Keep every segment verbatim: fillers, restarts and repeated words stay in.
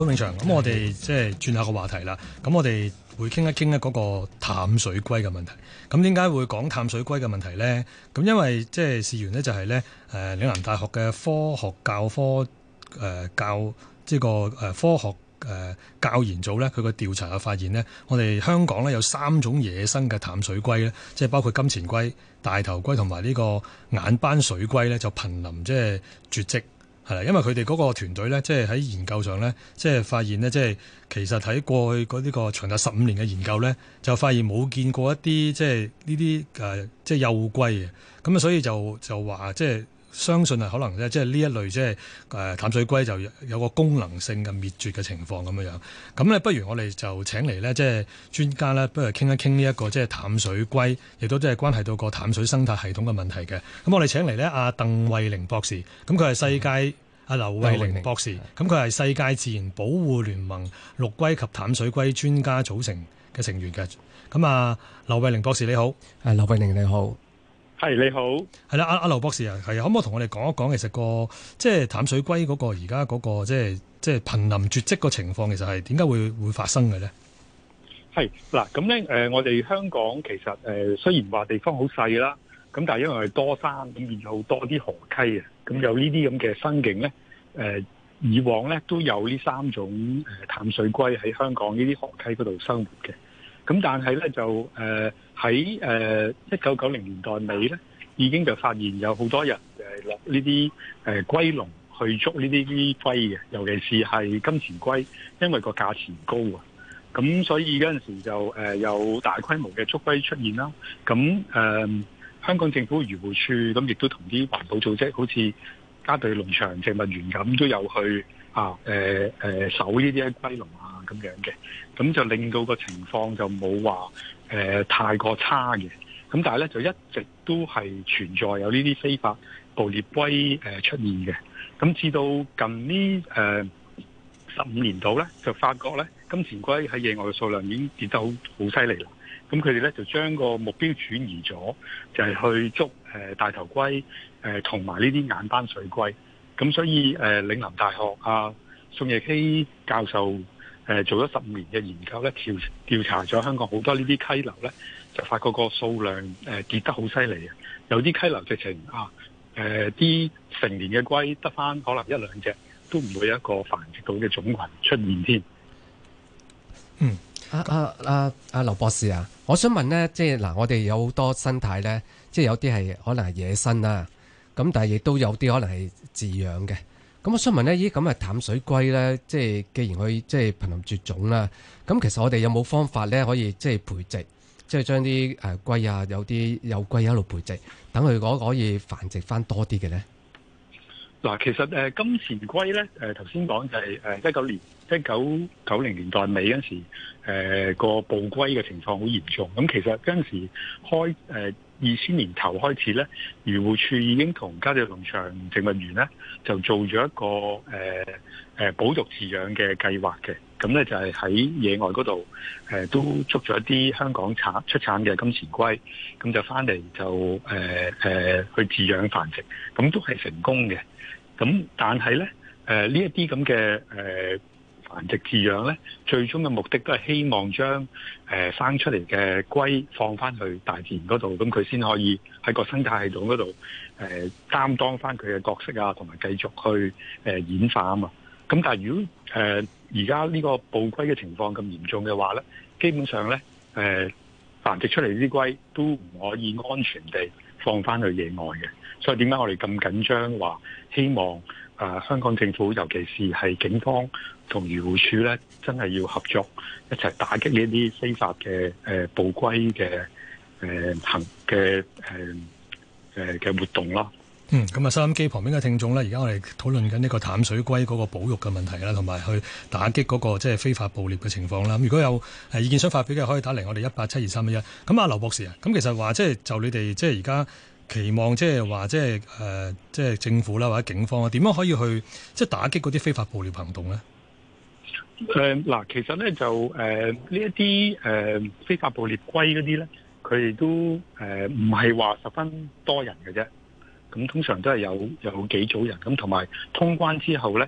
永祥，咁我哋即係轉下個話題啦。咁我哋會傾一傾咧嗰個淡水龜嘅問題。咁點解會講淡水龜嘅問題呢？咁因為即係事緣呢，就係咧誒，嶺南大學嘅科學教科誒、呃、教即係個誒科學誒、呃、教研組咧，佢個調查嘅發現呢，我哋香港咧有三種野生嘅淡水龜咧，即係包括金錢龜、大頭龜同埋呢個眼斑水龜咧，就瀕臨即係絕跡。係啦，因為佢哋嗰個團隊咧，即係喺研究上咧，即係發現咧，即係其實喺過去嗰呢個長達十五年嘅研究咧，就發現冇見過一啲即係呢啲誒即係幼龜嘅，咁啊，所以就就話即係相信係可能咧，即係呢一類即係誒淡水龜就有個功能性嘅滅絕嘅情況咁樣樣。咁咧，不如我哋就請嚟咧，即係專家咧，不如傾一傾呢一個即係淡水龜，亦都即係關係到個淡水生態系統嘅問題嘅。咁我哋請嚟咧，阿鄧惠玲博士，咁佢係世界阿劉惠玲博士，咁佢係世界自然保護聯盟陸龜及淡水龜專家組成嘅成員嘅。咁啊，劉惠玲博士你好。 誒，劉惠玲你好。 係你好， 係啦，阿阿劉博士啊，係可唔可以同我哋講一講，其實個即係淡水龜嗰個而家嗰個即係即係瀕臨絕跡個情況，其實係點解會會發生嘅咧？ 係嗱，咁咧誒，我哋香港其實誒、呃、雖然話地方好細啦，咁但係因為係多山，咁變咗好多啲河溪啊，咁有呢啲咁嘅生境咧，誒、呃、以往咧都有呢三種誒淡水龜喺香港呢啲河溪嗰度生活嘅。咁但係咧就誒喺誒一九九零年代尾咧，已經就發現有好多人誒落呢啲誒龜籠去捉呢啲啲龜嘅，尤其是係金錢龜，因為個價錢高啊。咁所以嗰陣時就誒有大規模嘅捉龜出現啦。咁誒、呃、香港政府漁護署咁亦都同啲環保組織，好似嘉道理農場植物園咁，都有去啊誒誒守呢啲龜籠啊。咁樣嘅，咁就令到個情況就冇話誒太過差嘅，咁但係咧就一直都係存在有呢啲非法捕獵龜誒出現嘅，咁至到近呢誒十五年度咧，就發覺咧金錢龜喺野外嘅數量已經跌得好好犀利啦，咁佢哋咧就將個目標轉移咗，就係、是、去捉誒、呃、大頭龜誒同埋呢啲眼斑水龜，咁所以誒、呃、嶺南大學啊宋亦希教授。誒做咗十五年嘅研究咧，調調查咗香港好多呢啲溪流咧，就發覺個數量誒跌得好犀利啊！有啲溪流直情啊誒啲成年嘅龜得返可能一兩隻，都唔會有一個繁殖到嘅種群出現添。 嗯，阿阿阿阿劉博士啊，我想問咧，即係嗱，我哋有好多生態咧，即係有啲係可能係野生啦，咁但係亦都有啲可能係飼養嘅。咁我想問呢，依咁嘅淡水龜呢，即係既然佢即係瀕臨絕種啦，咁其實我哋有冇方法呢？可以即係培植，即係將啲誒龜啊，有啲幼龜喺度培植，等佢嗰可以繁殖翻多啲嘅呢？ 嗱，其實誒金錢龜呢，誒頭先講就係誒一九年一九九零年代尾嗰陣時，誒、呃、個捕龜嘅情況好嚴重。咁其實嗰陣時開誒二千年頭開始咧，漁護署已經同嘉道理農場植物園咧就做咗一個誒誒、呃、保育飼養嘅計劃嘅。咁咧就係喺野外嗰度誒都捉咗一啲香港產出產嘅金錢龜，咁就翻嚟就誒誒、呃呃、去飼養繁殖，咁都係成功嘅。咁但係咧誒呢一啲咁嘅誒繁殖飼養咧，最終嘅目的都係希望將誒、呃、生出嚟嘅龜放翻去大自然嗰度，咁佢先可以喺個生態系統嗰度誒擔當翻佢嘅角色啊，同埋繼續去誒、呃、演化啊嘛。咁但係如果誒而家呢個捕龜嘅情況咁嚴重嘅話咧，基本上咧誒、呃、繁殖出嚟啲龜都唔可以安全地放翻去野外嘅。所以點解我哋咁緊張話希望誒、呃、香港政府，尤其是係警方同漁護署咧，真係要合作一齊打擊呢啲非法嘅誒捕龜嘅誒行嘅誒誒嘅活動咯。 嗯，咁啊，收音機旁邊嘅聽眾咧，而家我哋討論緊呢個淡水龜嗰個保育嘅問題啦，同埋去打擊嗰個即係非法捕獵嘅情況啦。咁如果有誒意見想發表嘅，可以打嚟我哋一八七二三一一。咁啊，劉博士啊，咁其實話即係就你哋即係而家期望即係話即係誒即係政府啦或者警方啊，點樣可以去即係打擊嗰啲非法捕獵行動咧？ 誒嗱，其實咧就誒呢一啲誒非法捕獵龜嗰啲咧，佢哋都誒唔係話十分多人嘅啫。咁通常都係有有幾組人，咁同埋通關之後咧，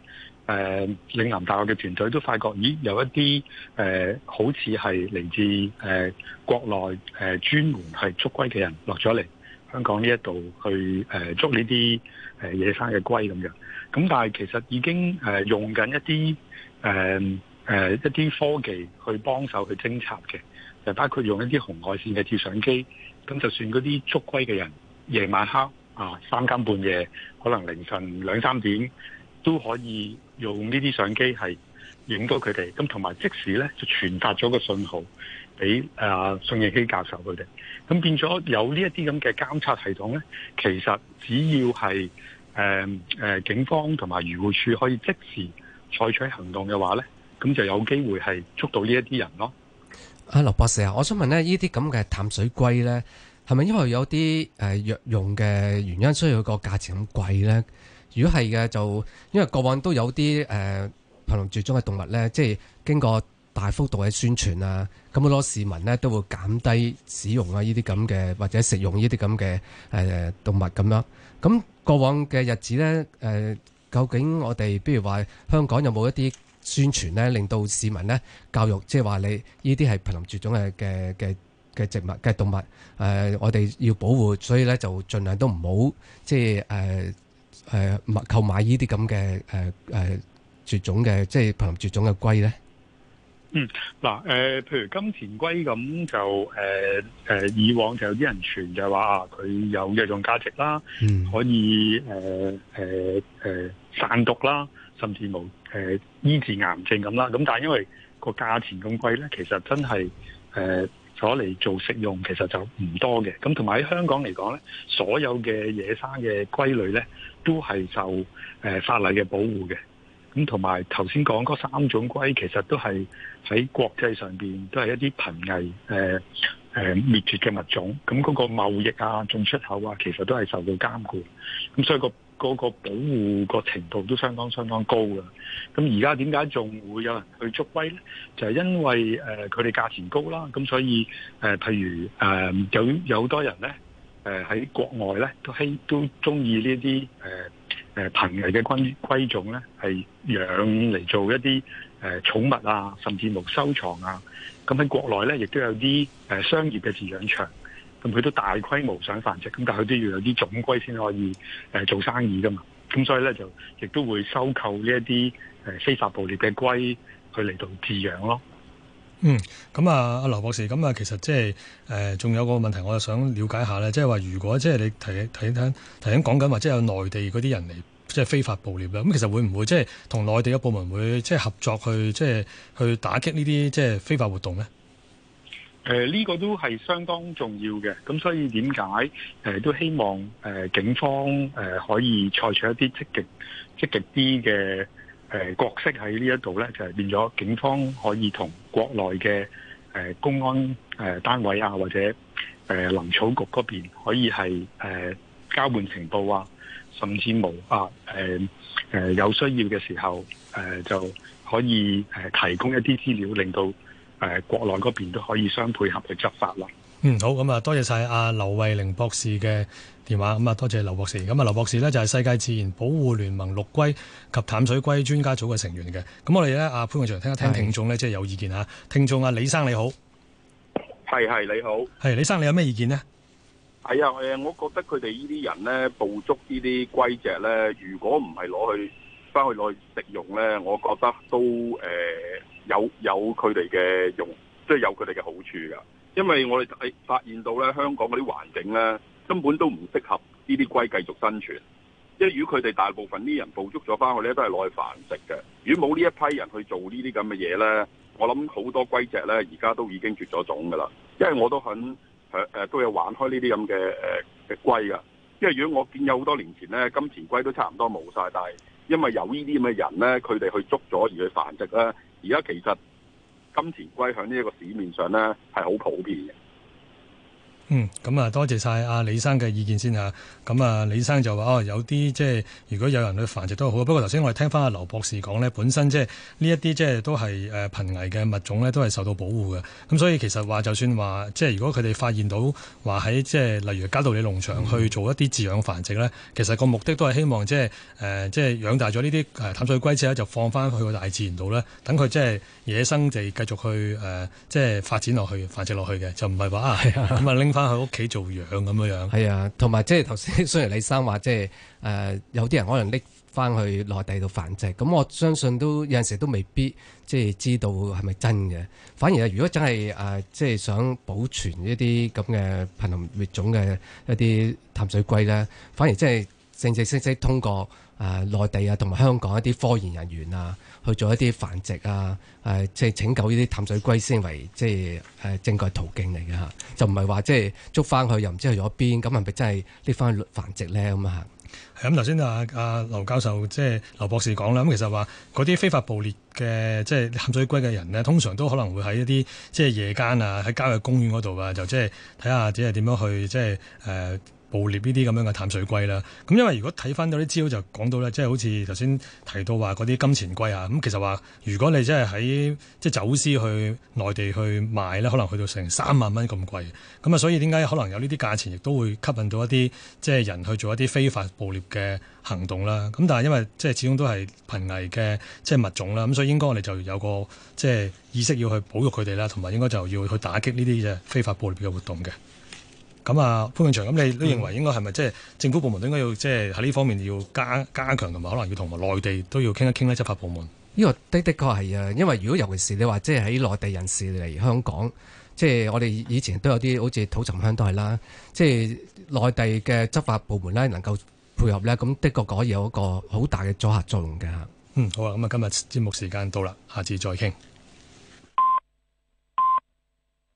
誒嶺南大學嘅團隊都發覺，咦有一啲誒、呃、好似係嚟自誒、呃、國內誒、呃、專門係捉龜嘅人落咗嚟香港呢一度去誒、呃、捉呢啲誒野生嘅龜咁樣。咁但係其實已經誒、呃、用緊一啲誒誒一啲科技去幫手去偵察嘅，就包括用一啲紅外線嘅照相機。咁就算嗰啲捉龜嘅人夜晚黑啊三更半夜，可能凌晨兩三點，都可以用呢啲相機係影到佢哋，咁同埋即時咧就傳達咗個信號俾啊宋應基教授佢哋，咁變咗有呢一啲咁嘅監察系統咧，其實只要係誒誒警方同埋漁護署可以即時採取行動嘅話咧，咁就有機會係捉到呢一啲人咯。 阿劉博士啊，我想問咧，呢啲咁嘅淡水龜咧，係咪因為有啲誒藥用嘅原因，所以佢個價錢咁貴咧？如果係嘅，就因為過往都有啲誒瀕臨絕種嘅動物咧，即係經過大幅度嘅宣傳啊，咁好多市民咧都會減低使用啊呢啲咁嘅或者食用呢啲咁嘅誒動物咁樣。咁過往嘅日子咧，誒、呃、究竟我哋譬如話香港有冇一啲宣傳咧，令到市民咧教育，即係話你呢啲係瀕臨絕種嘅嘅嘅嘅植物嘅動物，誒、呃、我哋要保護，所以咧就盡量都唔好即係誒。呃誒買購買呢啲咁嘅誒誒絕種嘅，即係瀕臨絕種嘅龜咧。 嗯，嗱、呃、誒，譬如金錢龜咁就誒誒、呃呃，以往就有啲人傳就話啊，佢有藥用價值啦，嗯、可以誒誒誒散毒啦，甚至無誒、呃、醫治癌症咁啦。咁但係因為個價錢咁貴咧，其實真係誒攞嚟做食用，其實就唔多嘅。咁同埋喺香港嚟講咧，所有嘅野生嘅龜類咧，都係受誒、呃、法例嘅保護嘅。咁同埋頭先講嗰三種龜，其實都係喺國際上邊都係一啲瀕危誒誒滅絕嘅物種。咁嗰個貿易啊、進出口啊，其實都係受到監管。咁所以、嗰個嗰、嗰個保護個程度都相當相當高嘅。咁而家點解仲會有人去捉龜咧？就係、是、因為誒佢哋價錢高啦。咁所以誒、呃，譬如誒、呃、有有好多人咧誒喺國外咧都希都中意呢啲誒。誒瀕危嘅龜龜種咧，係養嚟做一啲誒、呃、寵物啊，甚至乎收藏啊。咁喺國內咧，亦都有啲誒、呃、商業嘅飼養場，咁佢都大規模想繁殖，咁但係佢都要有啲種龜先可以誒、呃、做生意噶嘛。咁所以咧就亦都會收購呢一啲誒非法捕獵嘅龜去嚟到飼養咯。 嗯，咁啊，阿劉博士，咁啊，其實即係誒，仲、呃、有個問題，我就想了解下咧，即係話如果即係你提睇睇提緊講緊話，即係有內地嗰啲人嚟即係非法捕獵啦，咁其實會唔會即係同內地嘅部門會即係合作去即係去打擊呢啲即係非法活動咧？誒、 呃，呢、這個都係相當重要嘅，咁所以點解誒都希望誒、呃、警方誒、呃、可以採取一啲積極積極啲嘅。誒角色喺呢一度咧，就係變咗警方可以同國內嘅誒公安誒單位啊，或者誒林草局嗰邊可以係誒交換情報啊，甚至無啊誒誒有需要嘅時候誒就可以誒提供一啲資料，令到誒國內嗰邊都可以相配合去執法啦。 嗯，好，咁啊，多謝晒阿劉慧玲博士嘅電話，咁啊，多謝劉博士。咁啊，劉博士呢，就係世界自然保護聯盟陸龜及淡水龜專家組嘅成員嘅。咁我哋咧，阿潘永祥聽一聽聽眾咧，即係有意見嚇。聽眾啊，李生你好， 係係你好， 係李生，你有咩意見呢？ 係啊，誒，我覺得佢哋呢啲人咧捕捉呢啲龜隻咧，如果唔係攞去翻去攞去食用咧，我覺得都誒、呃、有有佢哋嘅用，即係有佢哋嘅好處㗎。因為我哋係發現到咧，香港嗰啲環境咧根本都唔適合呢啲龜繼續生存。因為如果佢哋大部分啲人捕捉咗翻去咧，都係攞去繁殖嘅。如果冇呢一批人去做呢啲咁嘅嘢咧，我諗好多龜隻咧而家都已經絕咗種㗎啦。因為我都肯誒誒都有玩開呢啲咁嘅誒嘅龜㗎。因為如果我見有好多年前咧，金錢龜都差唔多冇晒，但係因為有呢啲咁嘅人咧，佢哋去捉咗而去繁殖咧，而家其實金錢龜喺呢一個市面上咧係好普遍嘅。 嗯，咁啊，多謝晒阿李生嘅意見先嚇。咁啊，李生就話哦，有啲即係如果有人去繁殖都好。不過頭先我哋聽翻阿劉博士講呢，本身即係呢一啲即係都係誒瀕危嘅物種呢，都係受到保護嘅。咁所以其實話就算話即係如果佢哋發現到話喺即係例如嘉道理農場去做一啲飼養繁殖呢，其實個目的都係希望即係誒即係養大咗呢啲誒淡水龜之後就放翻去個大自然度呢，等佢即係野生地繼續去誒即係發展落去繁殖落去嘅，就唔係話啊咁啊拎翻去屋企做養咁樣樣。 係啊，同埋即係頭先雖然李生話即係誒有啲人可能拎翻去內地度繁殖，咁我相信都有陣時都未必即係知道係咪真嘅。反而係如果真係誒即係想保存一啲咁嘅瀕臨滅種嘅一啲淡水龜咧，反而即係正正式式通過誒內地啊同埋香港一啲科研人員啊去做一啲繁殖啊誒即係拯救呢啲淡水龜先為即係誒正確途徑嚟嘅嚇，就唔係話即係捉翻去又唔知去咗邊，咁係咪真係拎翻去繁殖咧咁啊？ 係咁頭先啊啊劉教授即係劉博士講啦，咁其實話嗰啲非法捕獵嘅即係淡水龜嘅人呢，通常都可能會喺一啲即係夜間啊，喺郊野公園嗰度啊，就即係睇下即係點樣去即係誒。呃捕獵呢啲咁樣嘅淡水龜啦，咁因為如果睇翻到啲資料就講到咧，即係好似頭先提到話嗰啲金錢龜啊，咁其實話如果你真係喺即係走私去內地去賣咧，可能去到成三萬蚊咁貴，咁啊所以點解可能有呢啲價錢，亦都會吸引到一啲即係人去做一啲非法捕獵嘅行動啦。咁但係因為即係始終都係瀕危嘅即係物種啦，咁所以應該我哋就有個即係意識要去保育佢哋啦，同埋應該就要去打擊呢啲嘅非法捕獵嘅活動嘅。咁啊，潘永祥，咁你都認為應該係咪即係政府部門都應該要即係喺呢方面要加加強，同埋可能要同埋內地都要傾一傾咧？執法部門呢個的的確係啊，因為如果尤其是你話即係喺內地人士嚟香港，即係我哋以前都有啲好似土沉香都係啦，即係內地嘅執法部門咧能夠配合咧，咁的確可以有一個好大嘅阻嚇作用嘅。 嗯，好啊，咁啊，今日節目時間到啦，下次再傾。